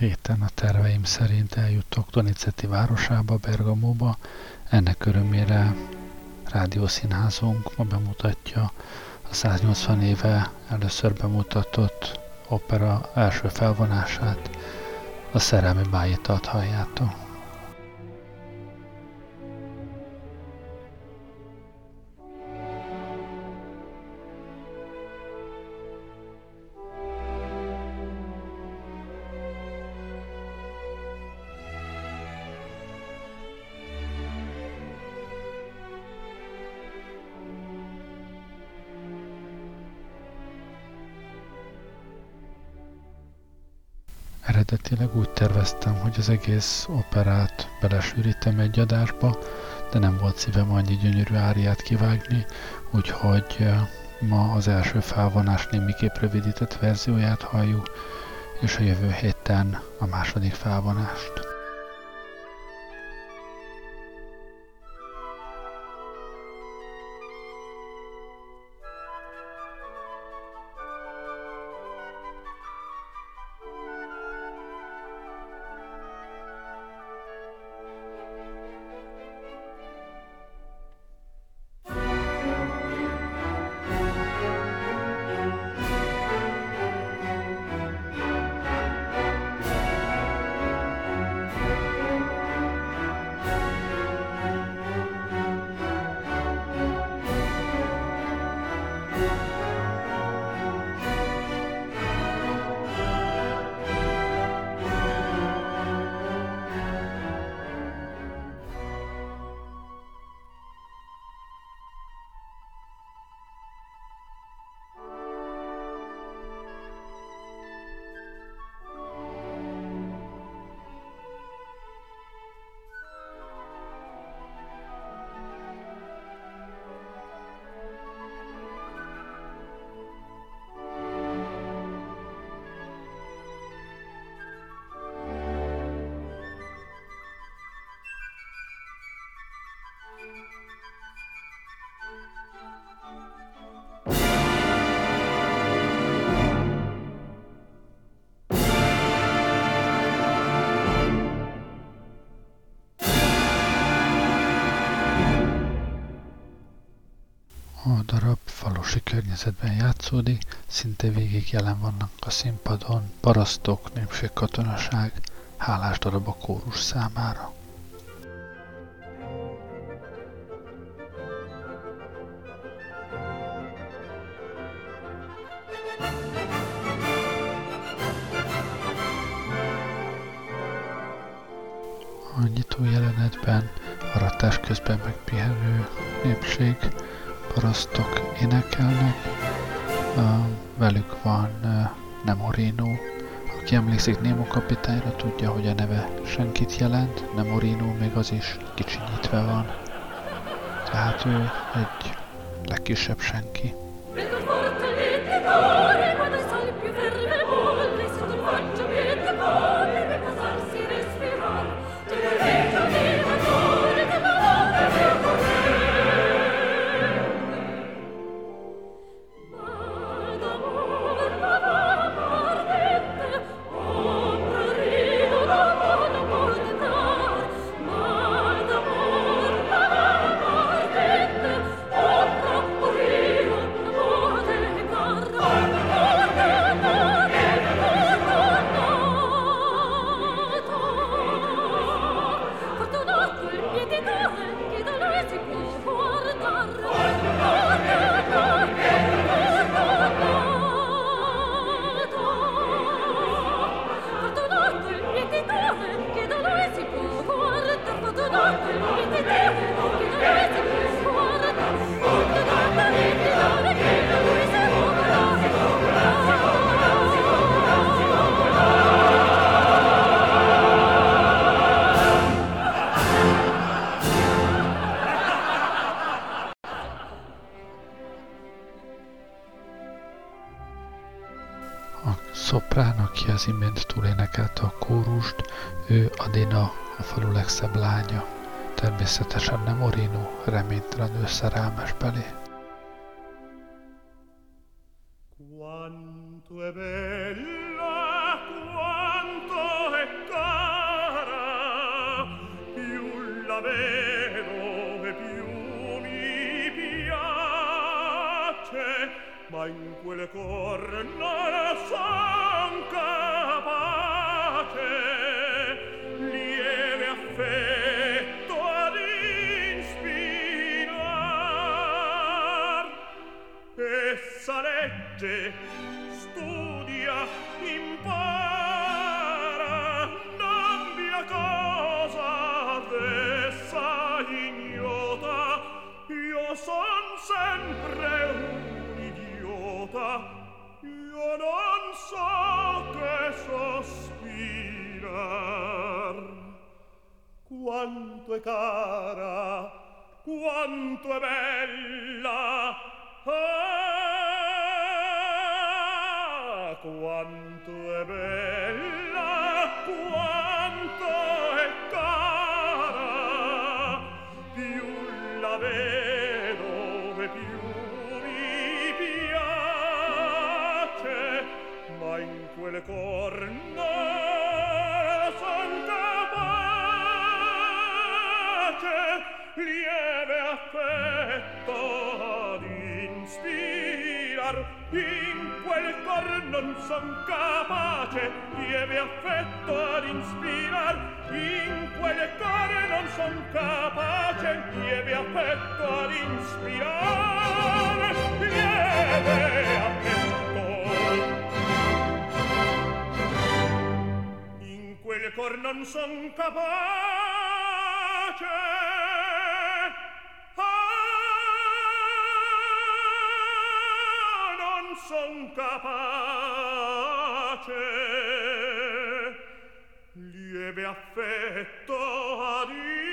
héten a terveim szerint eljutok Donizetti városába, Bergamóba. Ennek örömére rádiószínházunk ma bemutatja a 180 éve először bemutatott opera első felvonását, a Szerelmi bájitalt halljátok. Eredetileg úgy terveztem, hogy az egész operát belesűrítem egy adásba, de nem volt szívem annyi gyönyörű áriát kivágni, úgyhogy ma az első felvonás némiképp rövidített verzióját halljuk, és a jövő héten a második felvonást. A darab falusi környezetben játszódik, szinte végig jelen vannak a színpadon parasztok, népségkatonaság, hálás darab a kórus számára. A nyitó jelenetben aratás közben megpihenő népség, parasztok énekelnek, velük van Nemorino. Aki emlékszik Nemo kapitányra, tudja, hogy a neve senkit jelent, Nemorino még az is kicsinyítve van. Tehát ő egy legkisebb senki. Szoprán, aki az imént túlénekelte a kórust, ő Adina, a falu legszebb lánya. Természetesen Nemorino, reménytelenül szerelmes belé. Quanto è bella, quanto è la vedo e più mi piace, ma in quel cor non son capace lieve affetto ad inspirar. Essa legge, studia, impara, non via cosa d'essa ignota. Io son sempre un idiota, io non so che sospirar. Quanto è cara, quanto è bella, ah, quanto è bella, quanto è cara, più la vedo e più mi piace, ma in quel cor non son capace lieve affetto ad inspirar. In quel cor non son capace lieve affetto ad inspirar. In quel cor non son capace lieve affetto ad inspirar. Lieve affetto. In quel cor non son capace son capace lieve affetto ad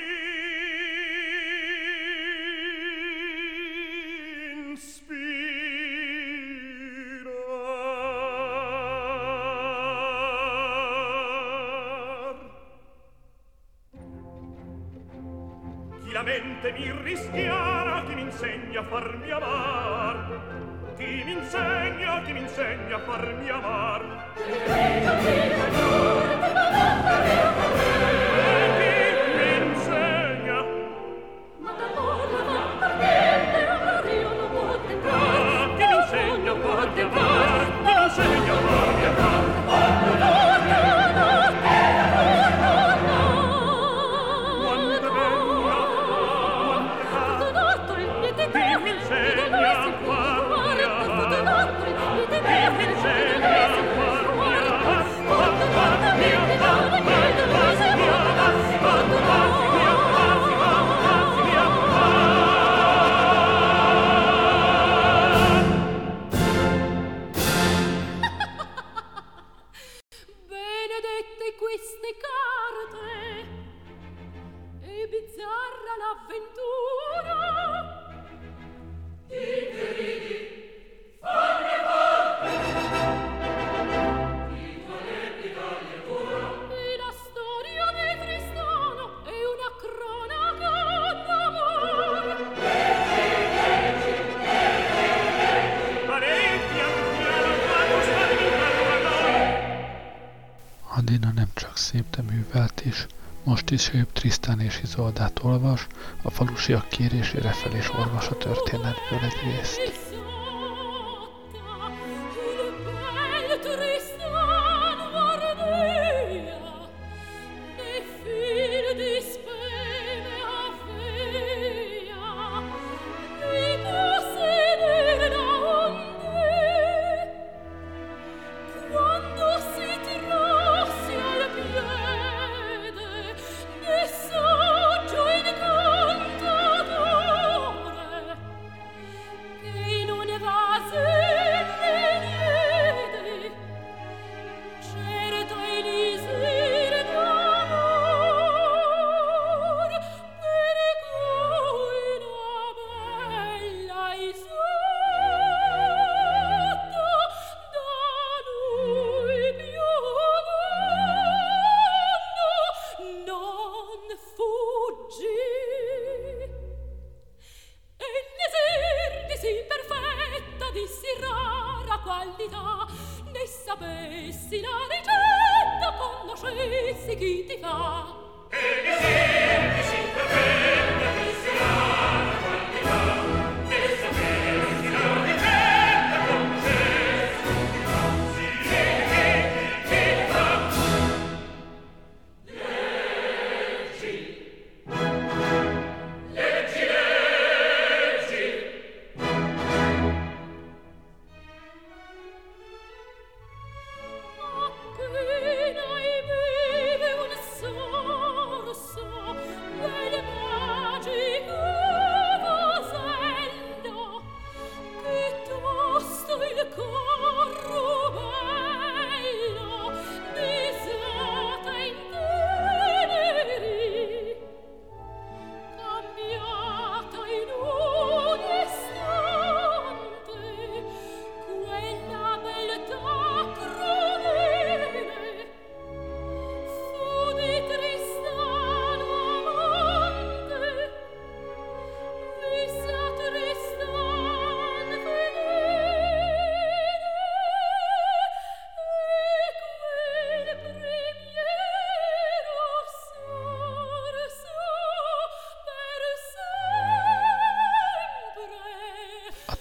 inspirar. Chi la mente mi rischiara, chi mi insegna a farmi amar, chi mi insegna a farmi amar. Chi mi insegna? Ma d'amore non partente, amore io non può tentare. Chi mi insegna a farmi amar? Chi mi insegna a farmi amar? Benedette queste carte e bizzarra l'avventura. Ti che ridi, fanne parte, ti toletti dagli ancora. E la storia di Tristano è una cronaca d'amore. Ma lei pian piano quando sta diventando a noi. Adina nem csak szép, de művelt is. Most is épp Trisztán és Izoldát olvas, a falusiak kérésére fel is olvas a történetből egy részt. sapessi la ricetta, conoscessi chi ti fa. E mi senti sì perfetto.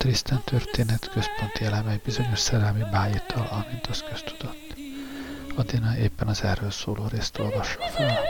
Tristan történet központi eleme egy bizonyos szerelmi bájéttal, amint az köztudott. Adina éppen az erről szóló részt olvassa fel.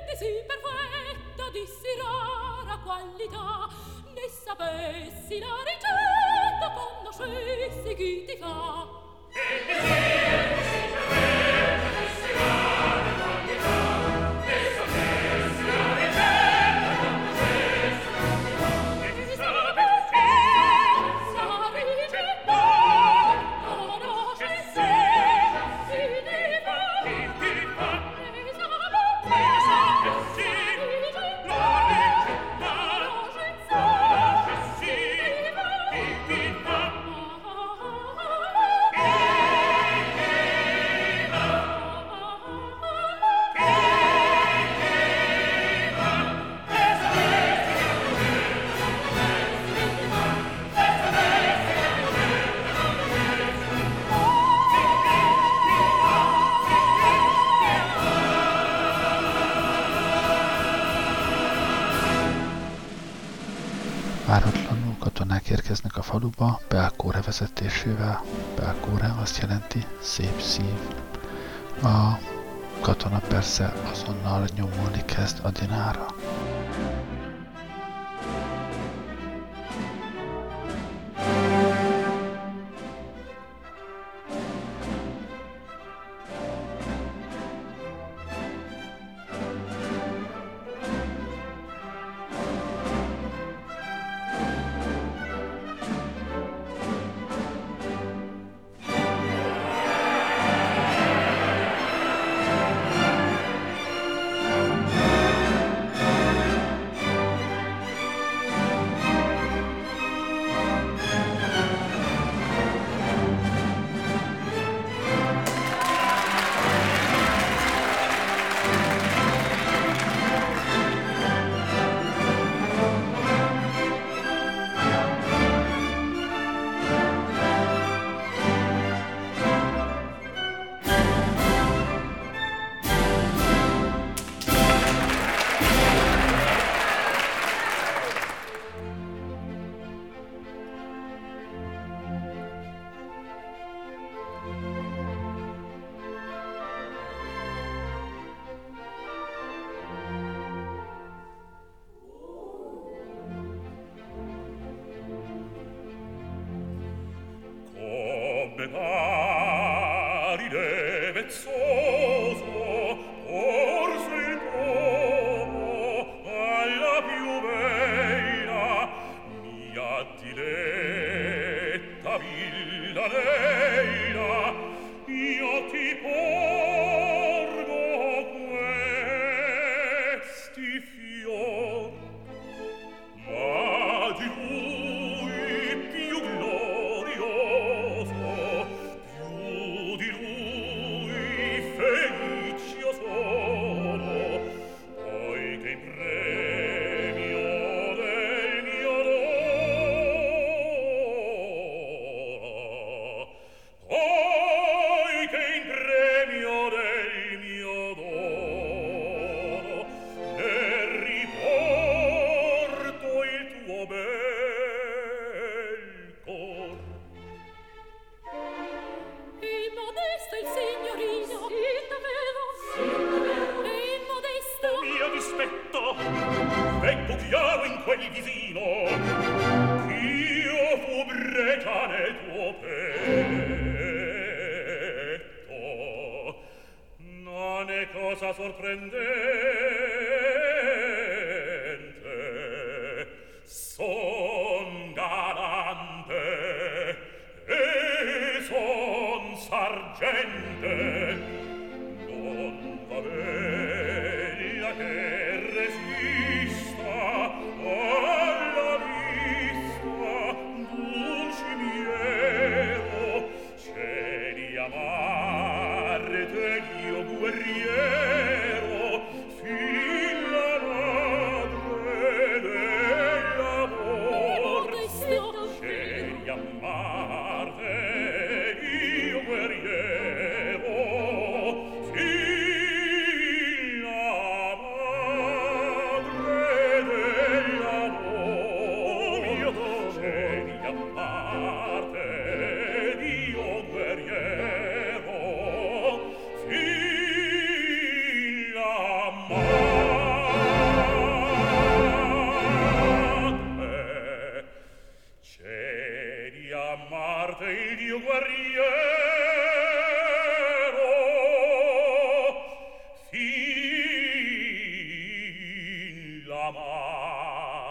Váratlanul katonák érkeznek a faluba, Belkóre vezetésével. Belkóre azt jelenti szép szív. A katona persze azonnal nyomulni kezd Adinára. Guerriero,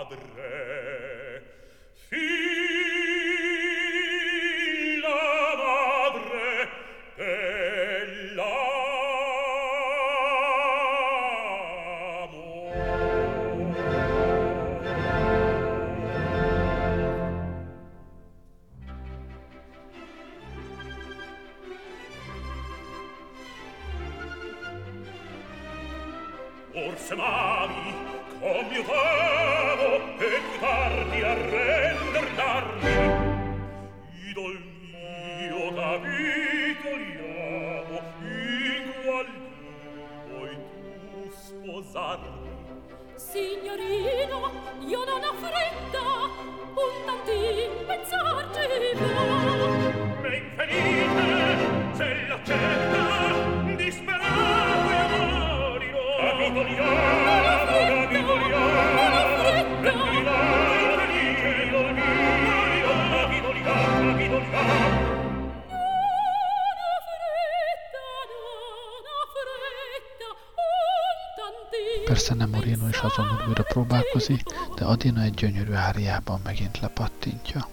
Forse mami commiutavo e più tardi a render l'armi. Idol mio capitoliamo in qual dì vuoi tu sposarmi? Signorino, io non ho fretta, un tantin pensarci va. Me infelice, se l'accetta, disperato io morirò. Capitoliamo, capitoliamo, e mi va felice idol mio, capitoliamo, capitoliamo. Persze nem Morino is azonnal újra próbálkozik, de Adina egy gyönyörű áriában megint lepattintja.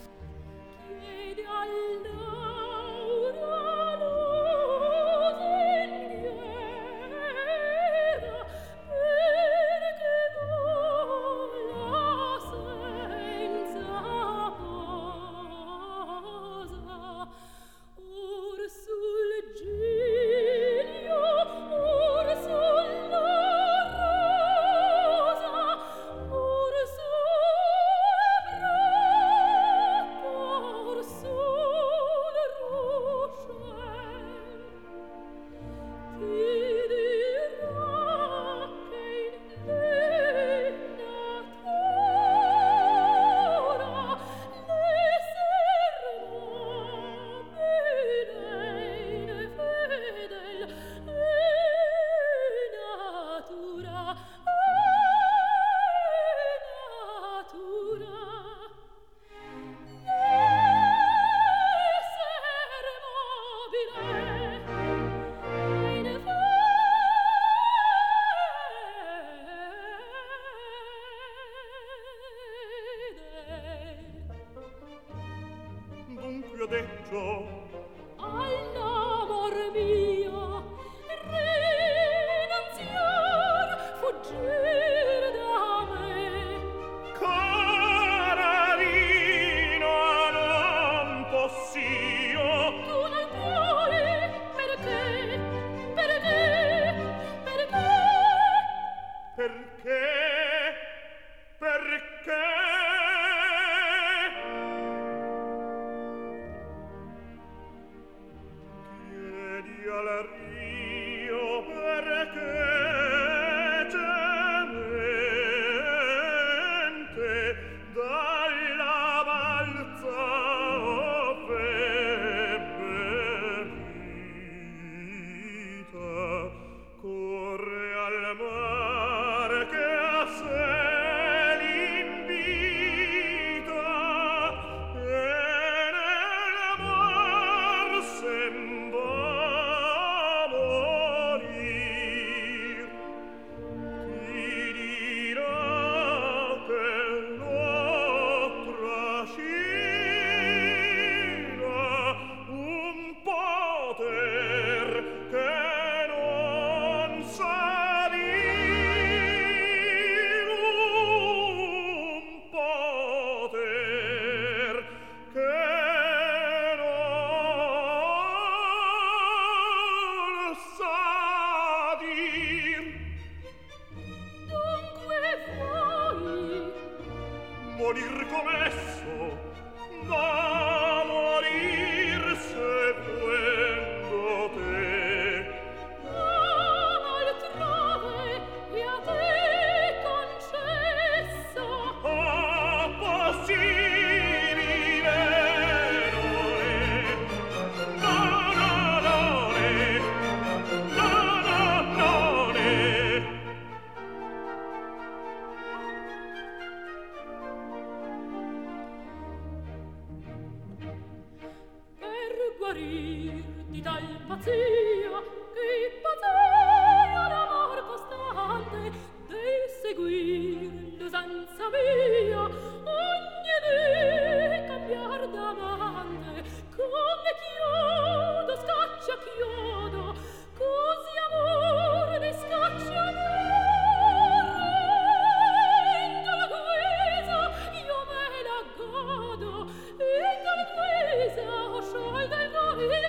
via ogni dì cambiar d'amante come chiodo scaccia chiodo così amor ne scaccia amor in tal guisa io me la godo in tal guisa ho sciolto il cor in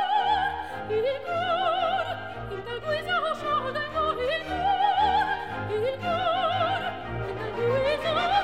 tal guisa ho sciolto il cor in tal guisa ho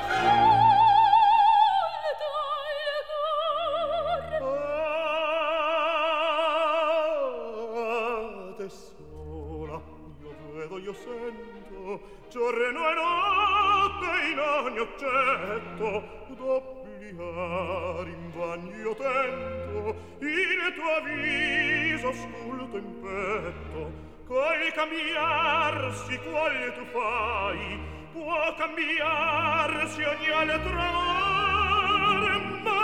te sola io vedo io sento giorno e notte in ogni oggetto d'obbligare in vano io tento il tuo viso sculto in petto col cambiarsi qual tu fai può cambiarsi ogni altro amore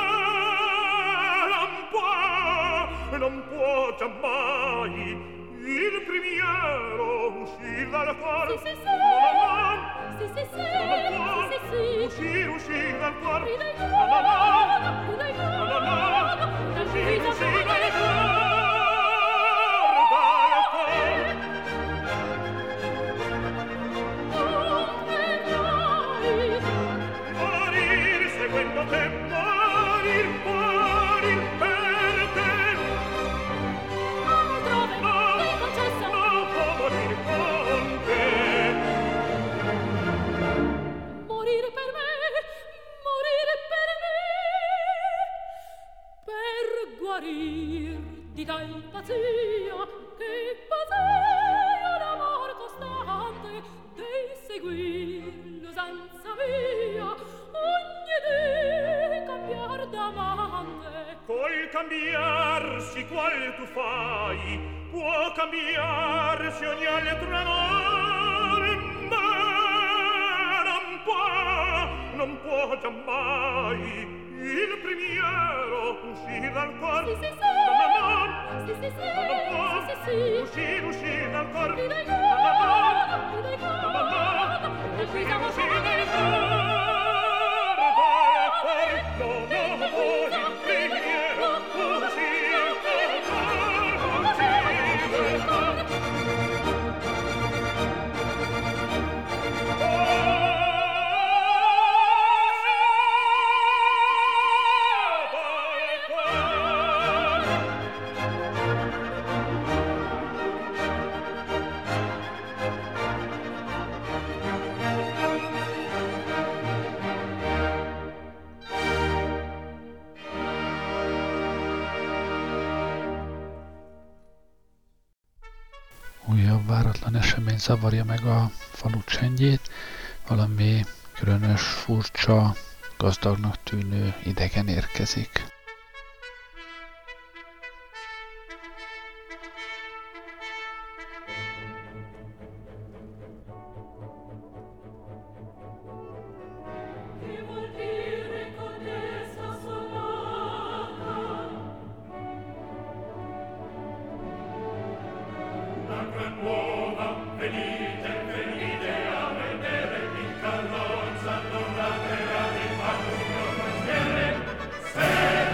ma non può giammai il primiero uscir dal cor Sì, sì, uscir dal cor uscir dal morir seguendo te morir per te morir con te morire per me per guarir di tal pazzia che pazzia l'amor costante del seguir l'usanza mia ogni dì cambiar d'amante col cambiarsi qual tu fai può cambiarsi ogni altro amore ma non può giammai il primiero uscir dal cor uscir dal cor Újabb váratlan esemény zavarja meg a falu csendjét, valami különös, furcsa, gazdagnak tűnő idegen érkezik. Venite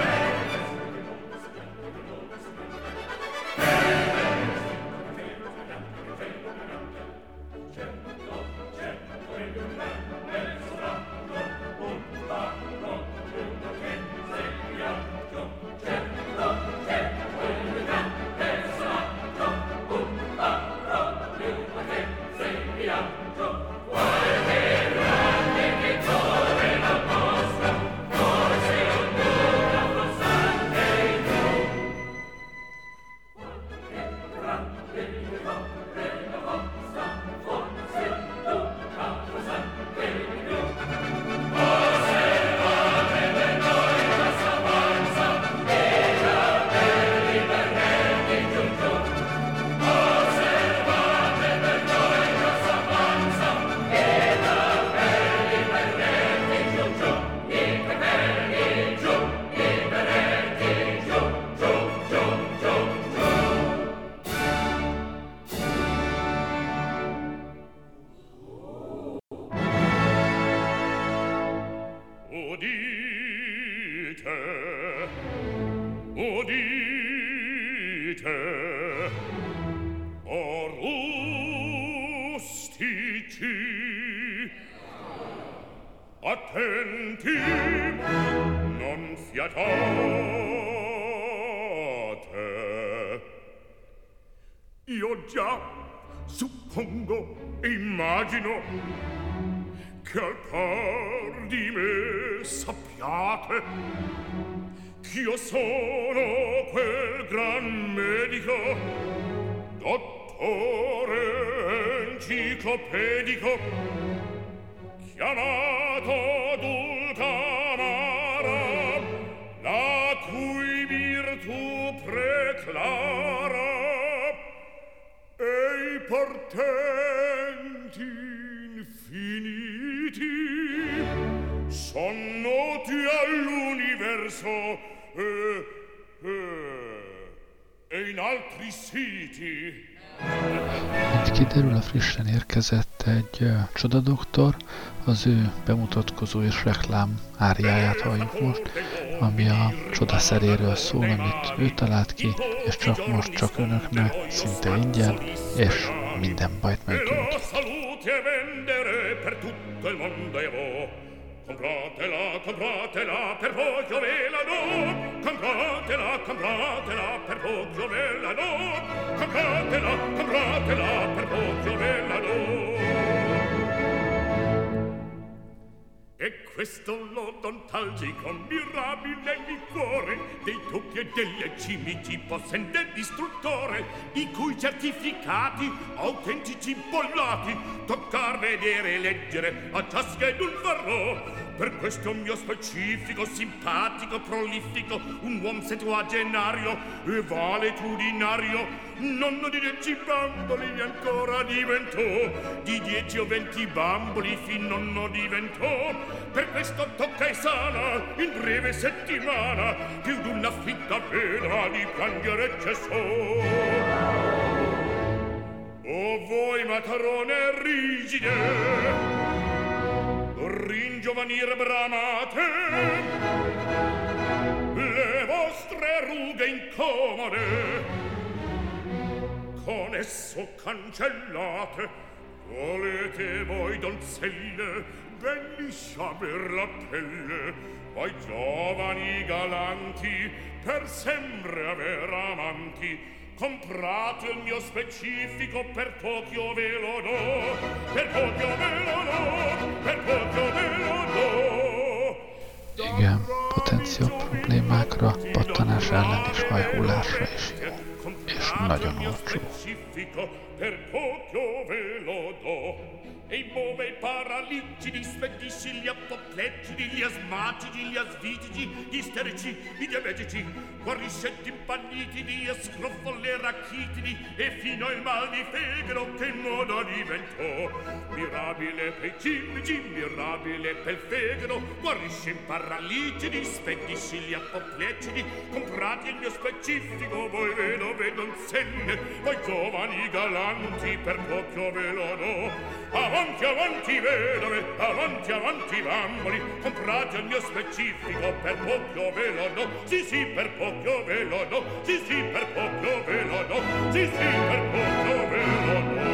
attenti, non fiatate. Io già suppongo e immagino che al par di me sappiate ch'io sono quel gran medico, dottore enciclopedico, chiamato Dulcamara, la cui virtù preclara e i portenti infiniti son noti all'universo e in altri siti. Mint kiderül, a frissen érkezett egy csodadoktor, az ő bemutatkozó és reklám áriáját halljuk most, ami a csodaszeréről szól, amit ő talált ki, és csak most, csak önöknek, szinte ingyen, és minden bajt meggyógyít. Compratela, compratela, per poco ve la do. Compratela, compratela, per poco ve la do. Compratela, compratela, per poco ve la do. E questo l'odontalgico mirabile liquore dei tocchi e delle cimici possente distruttore, i cui certificati autentici bollati toccar, vedere, leggere a ciaschedun farò. Per questo mio specifico, simpatico, prolifico, un uom settuagenario e valetudinario, nonno di 10 bamboli ancora diventò, di 10 o 20 bamboli fin nonno diventò. Per questo tocca e sana in breve settimana più d'una fitta pena di piangere cessò. O voi matrone rigide, ringiovanir bramate, le vostre rughe incomode con esso cancellate. Volete voi donzelle ben liscia per la pelle, voi giovani galanti per sempre aver amanti, comprate il mio specifico, per poco ve lo do, per poco ve lo do, per poco ve lo do. Igen, potenciál problémákra, pattanás ellen és hajhullásra is jó, és nagyon olcsó. Per poco ve lo do. E i bove paraliggidi, spedisci, gli apopleggidi, gli asmatici, gli asvitici, gli isterici, i diabetici, guariscetti impallitidi e scroffole rachitidi, e fino al mal di fegato che in modo diventò. Mirabile per i cimici, mirabile per il fegato, guarisce in paraliggidi, spedisci gli apopleggidi, comprate il mio specifico, voi vedove donzelle, voi giovani galanti, per poco ve lo do. Avanti, avanti vedove, avanti, avanti bamboli, comprate il mio specifico, per poco ve lo do, sì sì, per poco ve lo do, sì sì, per poco ve lo do, sì sì, per poco ve lo do.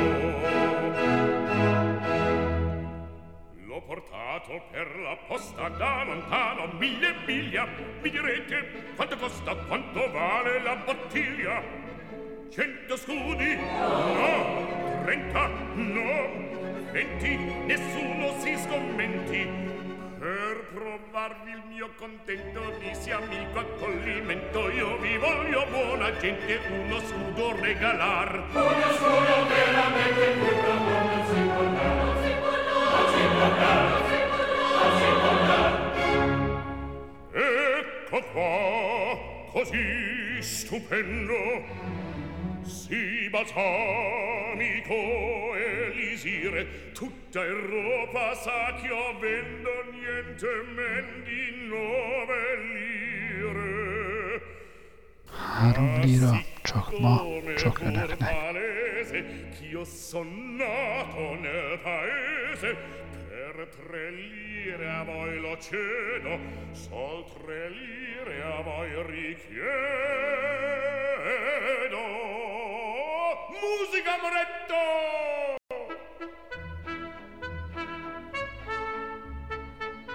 L'ho portato per la posta da lontano 1000 miglia, mi direte quanto costa, quanto vale la bottiglia? 100 scudi? No. 30? No. 20, nessuno si scommenti. Per provarvi il mio contento, dissi amico accoglimento, io vi voglio buona gente uno scudo regalar. Uno scudo veramente tutto non si può dar, non si può dar, non si può dar, non si può dar, non si può dar. Ecco qua, così stupendo, si balsamico elisire, tutta Europa sa che io vendo niente men di 9 lire. 3 lira, csak ma, csak önöknek. Ch'io son nato nel paese, per 3 lire a voi lo cedo, sol 3 lire a voi richiedo. Musica Moretto!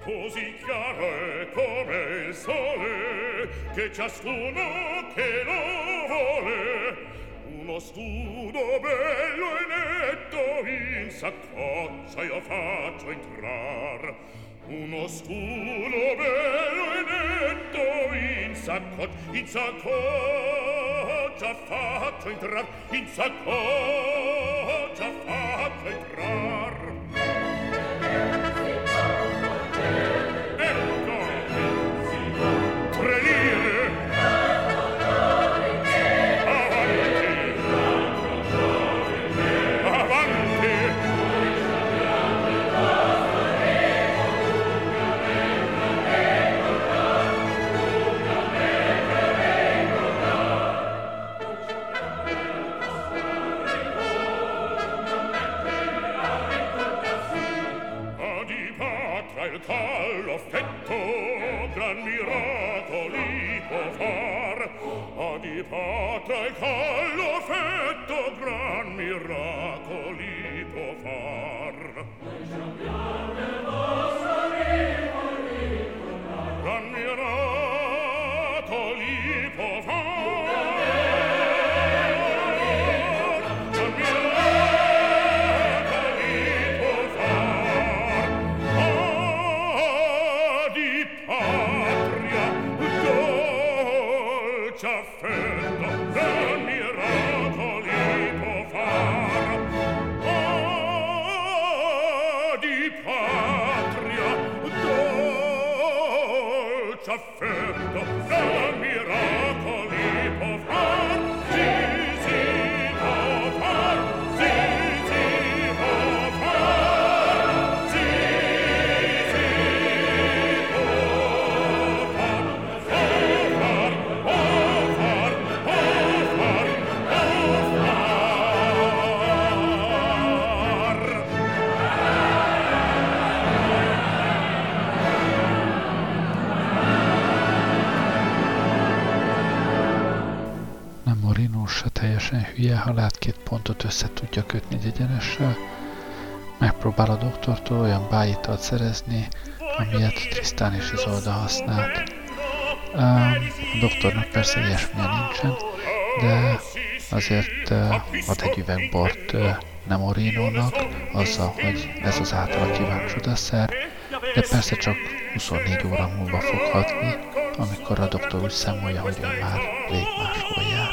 così chiaro è come il sole, che ciascuno che lo vuole, uno studo bello e netto in saccoccia io faccio entrar. Uno studo bello e netto in saccoccia faccio entrar, in saccoccia faccio entrar. Ecco, 3 lire. Avanti, avanti. Il callo fetto gran miracoli può far, adipatra il callo fetto gran miracoli può far. Gran miracoli può far. Gran miracoli può far. Di patria dolce affetto gran miracoli può far. Di patria dolce affetto gran miracoli può far. Sì, sì, può far. Sì, sì, può far. Sì, sì, può far. Nem Morino se teljesen hülye, ha lát 2 pontot össze tudja kötni egy egyenessel. Megpróbál a doktortól olyan bájitalt szerezni, amilyet Tristan és Isolda használt. A doktornak persze ilyesmilyen nincsen, de azért ad egy üveg bort Nemorinónak, azzal, hogy ez az általa kívánt csodaszer, de persze csak 24 óra múlva fog hatni, amikor a doktor úgy számolja, hogy ő már rég máshol jár.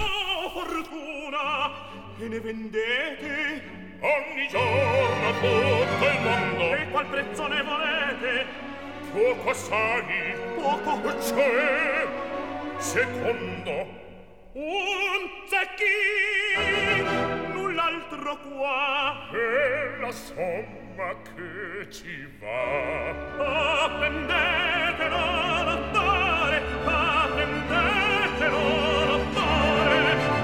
Ogni giorno tutto il mondo. E qual prezzo ne volete? Poco assai. Poco? Cioè, secondo un zecchin, null'altro qua. E la somma che ci va. Attendetelo, dottore, attendetelo, dottore.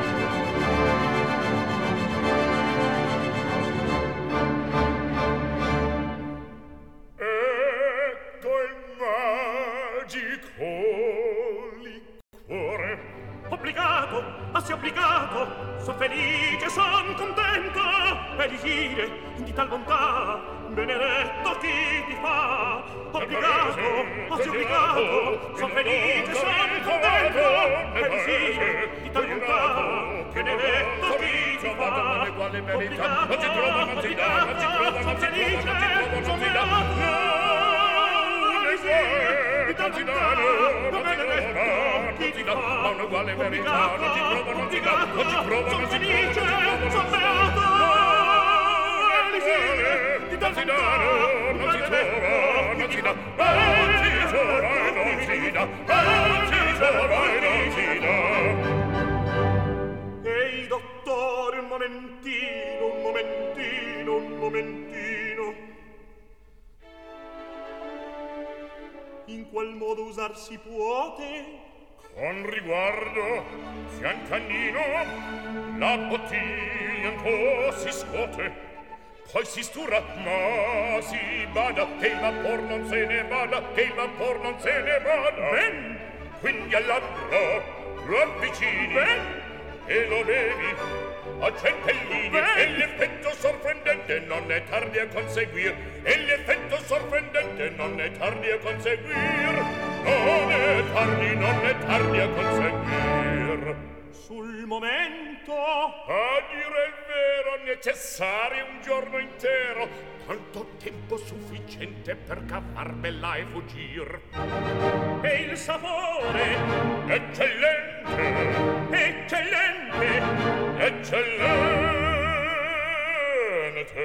Ecco il magico liquore. Obbligato, assi obbligato, son felice, son contento. Elisire di tal bontà, benedetto chi ti fa. Obbligato, assi obbligato, son felice, son contento. Elisire di tal bontà, benedetto chi ti fa. Obbligato, obbligato, son felice, son beato. Elisire di tal bontà, benedetto chi ti fa. Ma un'uguale verità non ci provo, non ci dà, non ci provo, non ci felice, son beato. Elisire di tal bontà, non ci trova, non ci dà, non ci trova e non ci dà, non ci trova e non ci dà. Ehi, dottore, un momentino, un momentino, un momentino. In qual modo usar si puote? Con riguardo, fiancannino, la bottiglia un po' si scuote, poi si sturra, ma si bada, che il vapor non se ne vada, che il vapor non se ne vada. Ben, quindi al labbro lo avvicini, ben, e lo bevi, a centellini, e l'effetto sorprendente non è tardi a conseguir, e l'effetto sorprendente non è tardi a conseguir, non è tardi a conseguir. Sul momento, a dire il vero, necessario un giorno intero, tanto tempo sufficiente per cavarmela e fuggir. e il sapore, Eccellente, eccellente, eccellente.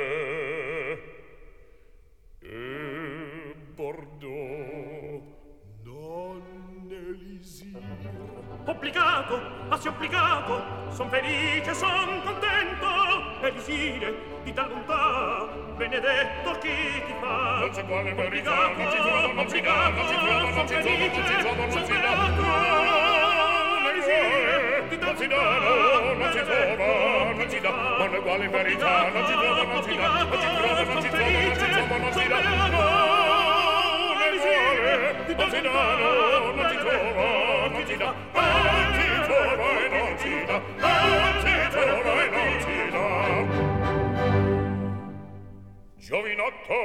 E Bordeaux non elisir. obbligato, assi obbligato, son felice, son contento, elisire di tal bontà, benedetto chi ti fa. Non c'è quale verità, non ci trovo, non ci dà, non ci trovo, non ci trovo, non ci trovo, non ci dà. Non si dà, non ci trovo, non ci dà, ma non è quale verità, non ci trovo, non ci dà, non ci trovo, non ci trovo, non ci trovo, non ci dà. Non si dà, non ci trovo, non ci dà, non ci trovo e non ci dà, non ci trovo e non ci dà. Giovinotto,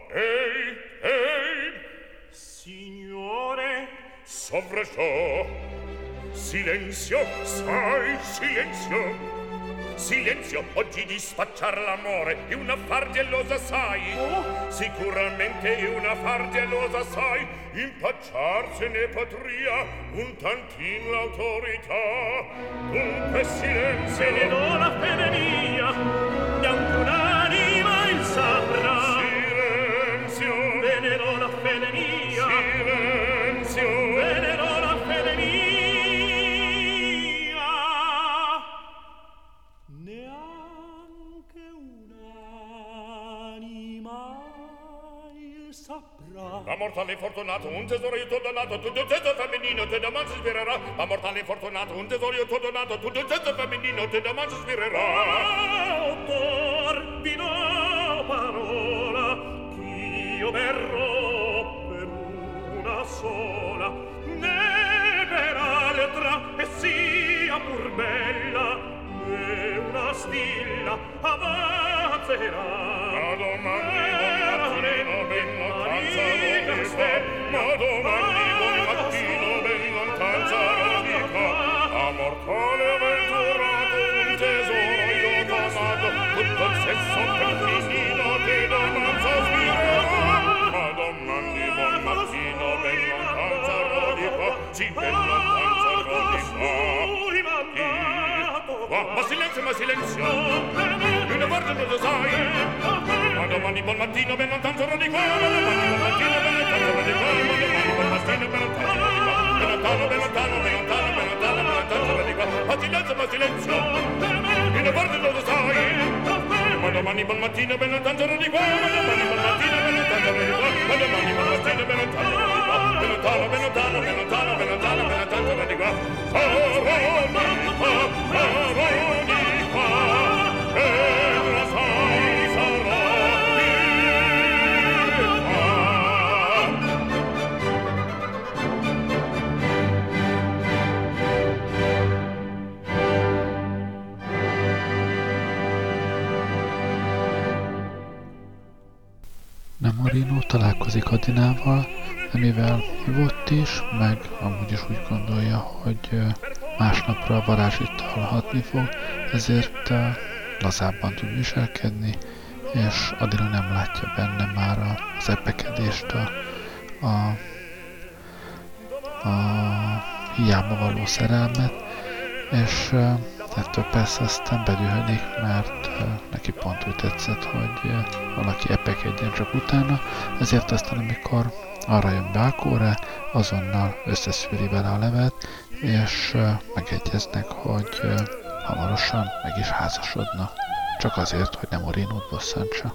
ehi, Signore, sovraciò. Silenzio, sai, silenzio. Silenzio, oggi di spacciar l'amore è un affar gelosa, sai. Sicuramente è un affar gelosa, sai. Impacciarsene potria un tantin l'autorità. Dunque silenzio. se ne do la fede mia, neanche un'anima il saprà. Silenzio. Ve ne do la fede mia, Silenzio. ve ne do la fede mia. Neanche un'anima il saprà. Ma mortale fortunato, un tesoro io t'ho donato, tutto il sesso femminino te da man si svirerà. Ma mortale fortunato, un tesoro io t'ho donato, tutto il sesso femminino te da man si svirerà. Autor, vi do parola, ch'io verrò per una sola, né per altra, e sia pur bella, né una stilla avanzerà. Ma domani ben lontanza rodica, ma domani buon mattino ben lontanza rodica. A mortale avventurato un tesoro io t'amato, tutto il sesso femminino te da manza svirerà. Ma domani buon mattino ben lontanza rodica, sì ben lontanza rodica. Ma silenzio, ma silenzio, una volta non lo sai. Ma domani buon mattino ben lontanza rodica, ma domani buon mattino ben lontanza rodica, ma domani buon mattino ben lontanza rodica, ben lontano, ben lontano, ben lontano, ben lontano, ben lontanza rodica. Ma silenzio, una volta non lo sai. Ma domani buon mattino ben lontanza rodica, ma domani buon mattino ben lontanza rodica, ma domani buon mattino ben lontanza rodica, ben lontano, ben lontano, ben lontano, ben lontano, ben lontanza rodica. Nemorino találkozik Adinával, de mivel hívott is, meg amúgy is úgy gondolja, hogy másnapra a varázsit hallhatni fog, ezért lazábban tud viselkedni, és Adina nem látja benne már az epekedést, a hiába való szerelmet, és ettől persze aztán bedühödik, mert neki pont úgy tetszett, hogy valaki epekedjen csak utána, ezért aztán amikor arra jön Belkóra, azonnal összeszűri vele a levet, és megegyeznek, hogy hamarosan meg is házasodnak, csak azért, hogy Nemorinót bosszantsa.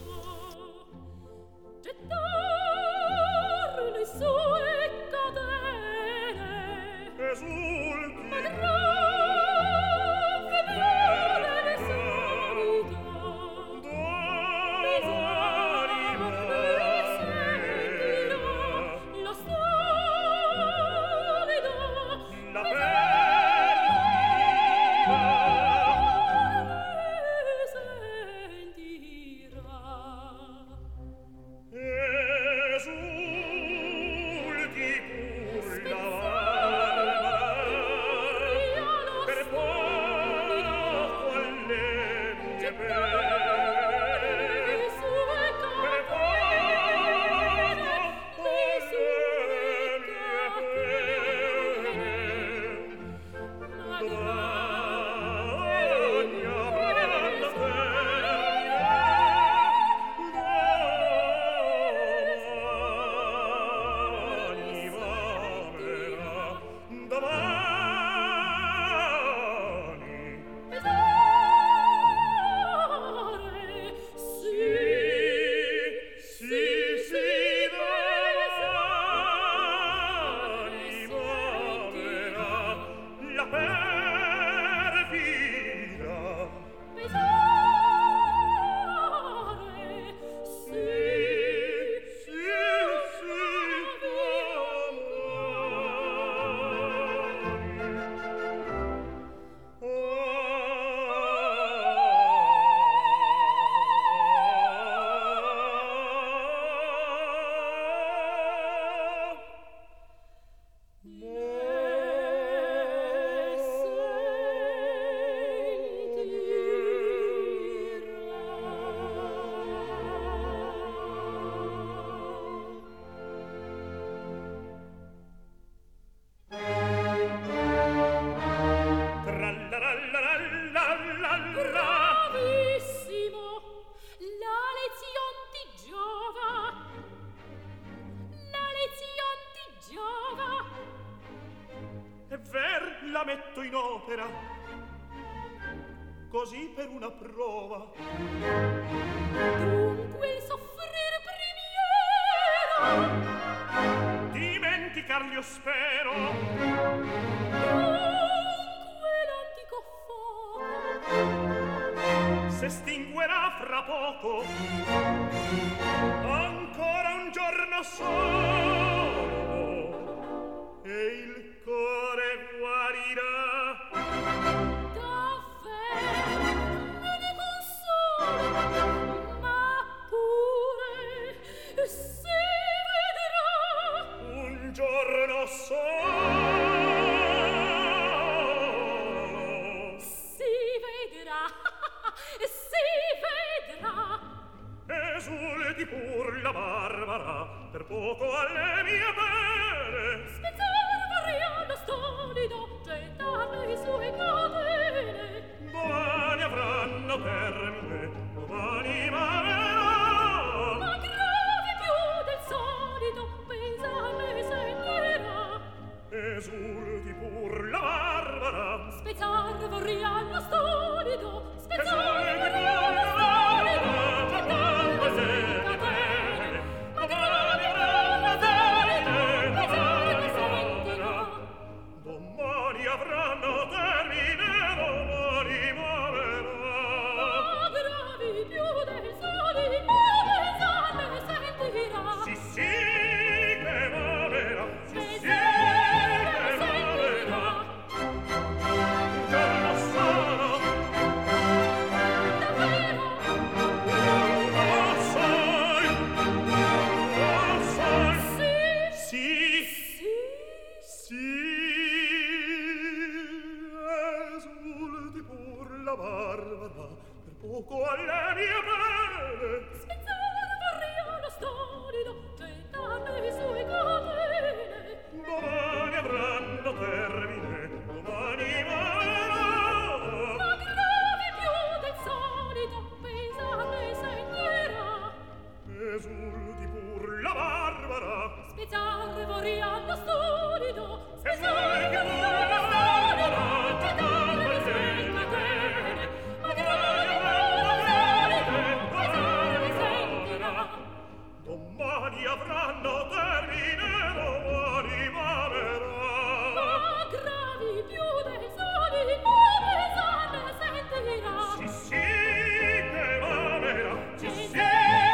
la metto in opera, così per una prova. Dunque il soffrir primiera, Dimenticar io spero. dunque l'antico fuoco S'estinguerà fra poco, ancora un giorno solo, e il cuore guarirà. davvero me ne consolo, ma pure si vedrà. Un giorno solo, Si vedrà, si vedrà. esulti pur la Barbara, per poco alle mie pene. Spezzar variando stolido, gettarle i suoi catene. Domani avranno termine, domani m'amerà. Ma gravi più del solito, pesarle segnerà. Esulti pur la Barbara, Spezzar variando stolido, spezzar esulti pur la variando stolido, Barbara, gettarle i suoi catene. Ma gravi più del solito, pesarle sentirà. domani avranno termine, domani m'amerà. Ma gravi più del solito, pesarle sentirà. Sì, sì, che m'amerà, sì, sì, che m'amerà. Un giorno solo, Davvero, sì, sì, sì, esulti pur la Barbara, per poco alle mie pene. spezzar variando stolido, gettarle i suoi catene. Domani avranno termine, domani m'amerà. Ma gravi più del solito, pesarle segnerà. Esulti pur la Barbara, Spezzar variando stolido, spezzar esulti pur la variando Barbara, stolido, gettarle i suoi catene. Ma gravi più del solito, pesarle sentirà. domani avranno termine, domani m'amerà. Ma gravi più del solito, pesarle sentirà. Sì, sì, che m'amerà, sì, sì, che m'amerà.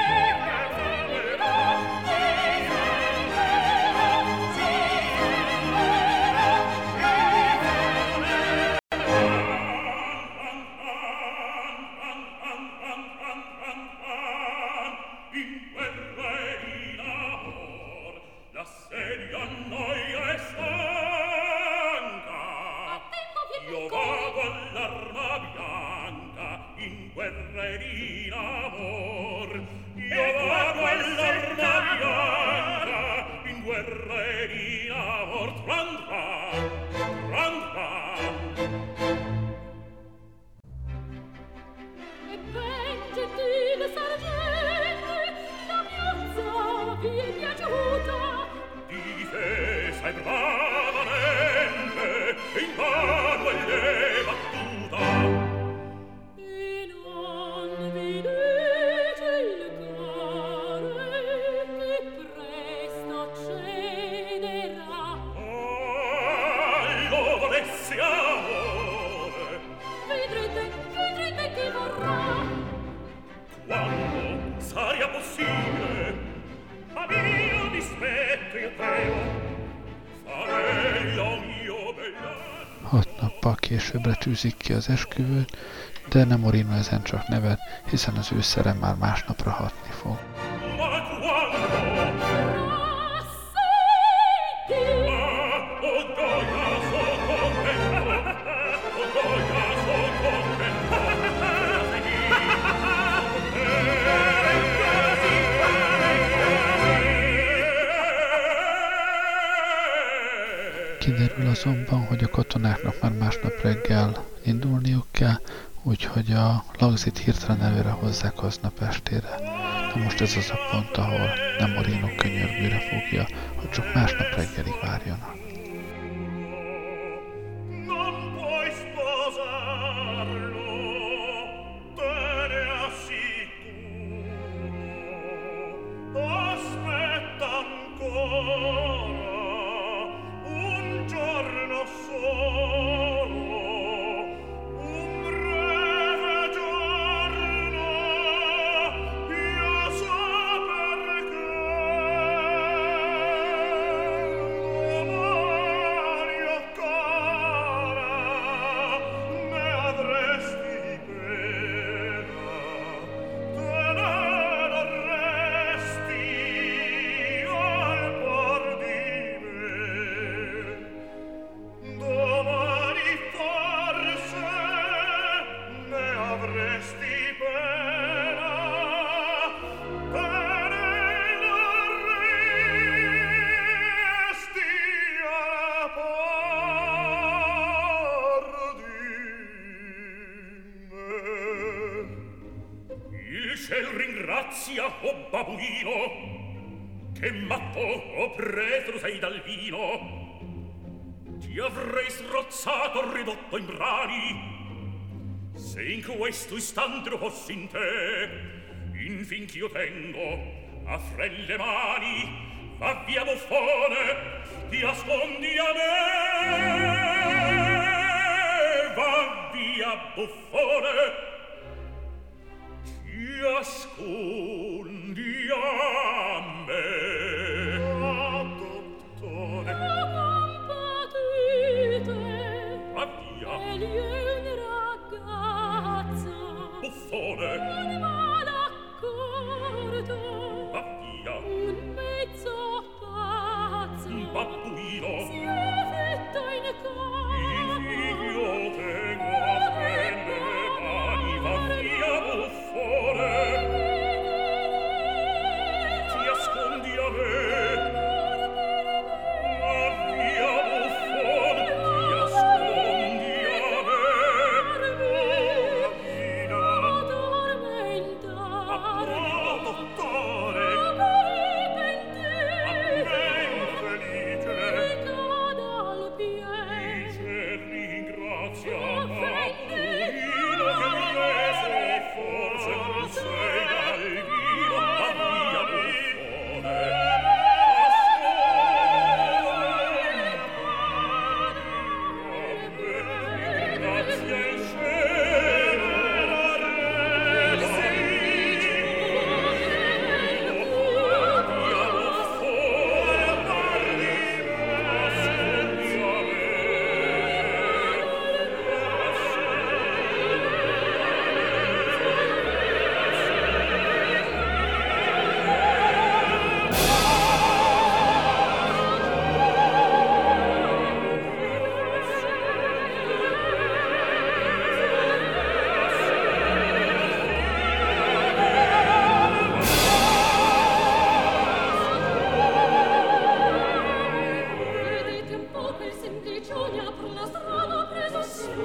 In guerra e in amor, l'assedio annoia e stanca. Io vago all'arma bianca, in guerra e in amor. Io vago all'arma bianca, in guerra e in amor. Tran tran, tran tran. E ben gentile sergente, la piazza vi è piaciuta. Difesa e bravamente, e in vano è le battuta. E non vi dice il cuore che presto cederà. Lo volessi amore, Vedrete che vorrà. quando saria possibile, a mio dispetto io temo, farei a mio bell'anno. 6 nappal későbbre tűzik ki az esküvőt, de Nemorino ezen csak nevet, hiszen az ő szere már másnapra hatni fog. Ma quando, Senti, oh gioia, so contento, oh gioia, so contento. Kiderül azonban, hogy a katonáknak már másnap reggel indulniuk kell, úgyhogy a Lagzit hirtelen előre hozzák aznap estére. De most ez az a pont, ahol Nemorino könyörgőre fogja, hogy csak másnap reggelig várjanak. No grazia, o babuino, che matto o preso sei dal vino. Ti avrei srozzato, ridotto in brani, se in questo istante lo fossi in te. Infin ch'io tengo a frelle mani, va via buffone, ti ascondi a me. Va via buffone, ti ascondi a me. Ah, dottore, va via. Egli è un ragazzo, Buffone, un malaccordo, va via. un mezzo pazzo, Un babbuino, si affetta in io tengo a prendere mani. Va via buffone, ti ascondi a me. Va via buffone, ti ascondi a me. Babbino, dottore, ben felice. Dice ringrazia babbino che mi rese forse tu sei dal vino. Va via buffone, ringrazia il cielo, resi. Va via buffone, parli, ascolti a me. Vedete un po' quel semplicione per la strada preso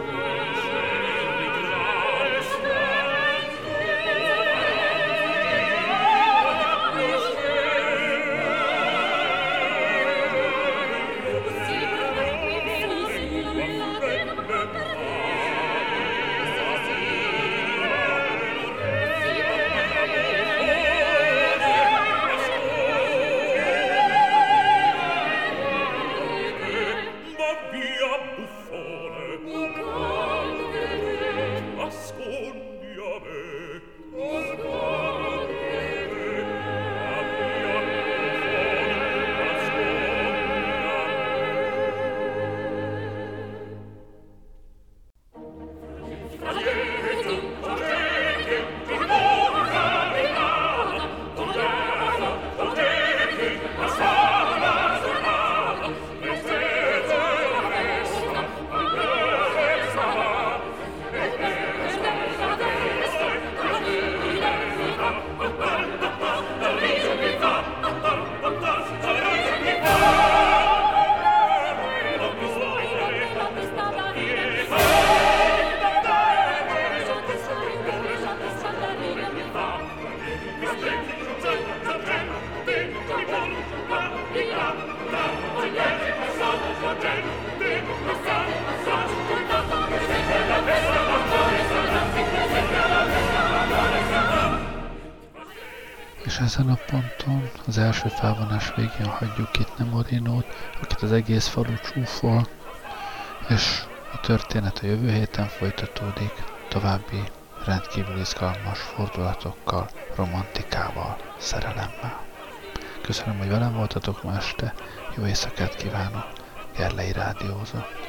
Va via buffone, ascolti a me. Va via buffone, És ezen a ponton, az első felvonás végén hagyjuk itt Nemorinót, akit az egész falu csúfol, és a történet a jövő héten folytatódik, további rendkívül izgalmas fordulatokkal, romantikával, szerelemmel. Köszönöm, hogy velem voltatok ma este, jó éjszakát kívánok, Gerlei rádiózott.